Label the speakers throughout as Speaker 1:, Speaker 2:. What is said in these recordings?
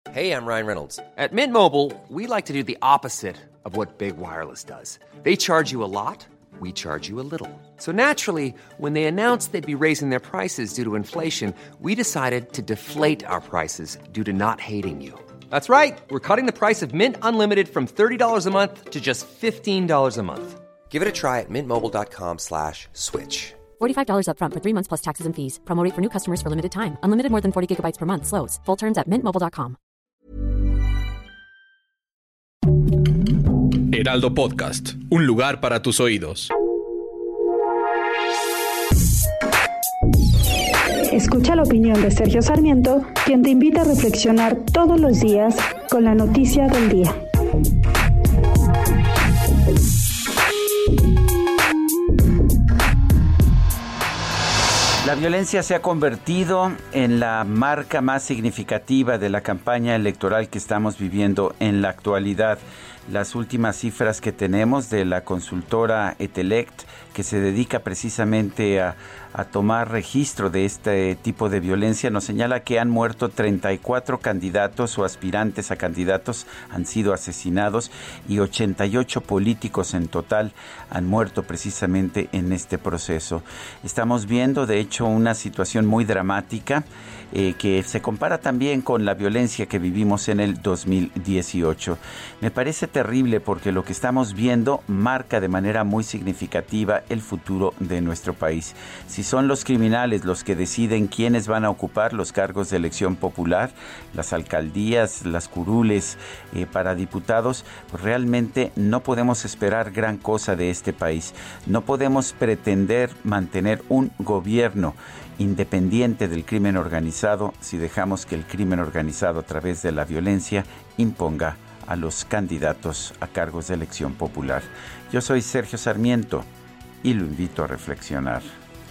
Speaker 1: Hey, I'm Ryan Reynolds. At Mint Mobile, we like to do the opposite of what Big Wireless does. They charge you a lot, we charge you a little. So naturally, when they announced they'd be raising their prices due to inflation, we decided to deflate our prices due to not hating you. That's right. We're cutting the price of Mint Unlimited from $30 a month to just $15 a month. Give it a try at mintmobile.com/switch.
Speaker 2: $45 up front for 3 months plus taxes and fees. Promo rate for new customers for limited time. Unlimited more than 40 gigabytes per month. Slows full terms at mintmobile.com.
Speaker 3: Heraldo Podcast, un lugar para tus oídos.
Speaker 4: Escucha la opinión de Sergio Sarmiento, quien te invita a reflexionar todos los días con la noticia del día.
Speaker 5: La violencia se ha convertido en la marca más significativa de la campaña electoral que estamos viviendo en la actualidad. Las últimas cifras que tenemos de la consultora Etelect, que se dedica precisamente a tomar registro de este tipo de violencia, nos señala que han muerto 34 candidatos o aspirantes a candidatos, han sido asesinados, y 88 políticos en total han muerto precisamente en este proceso. Estamos viendo, de hecho, una situación muy dramática que se compara también con la violencia que vivimos en el 2018. Me parece terrible porque lo que estamos viendo marca de manera muy significativa el futuro de nuestro país. Si son los criminales los que deciden quiénes van a ocupar los cargos de elección popular, las alcaldías, las curules para diputados, pues realmente no podemos esperar gran cosa de este país. No podemos pretender mantener un gobierno independiente del crimen organizado si dejamos que el crimen organizado a través de la violencia imponga a los candidatos a cargos de elección popular. Yo soy Sergio Sarmiento y lo invito a reflexionar.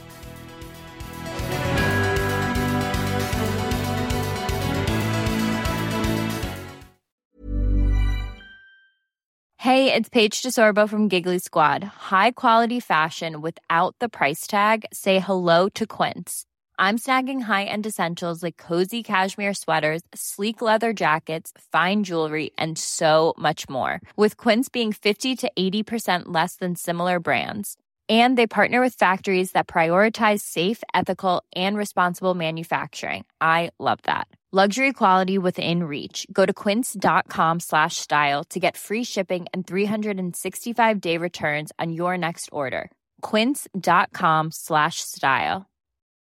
Speaker 6: Hey, it's Paige DeSorbo from Giggly Squad. High quality fashion without the price tag. Say hello to Quince. I'm snagging high-end essentials like cozy cashmere sweaters, sleek leather jackets, fine jewelry, and so much more. With Quince being 50 to 80% less than similar brands. And they partner with factories that prioritize safe, ethical, and responsible manufacturing. I love that. Luxury quality within reach. Go to quince.com/style to get free shipping and 365-day returns on your next order. Quince.com/style.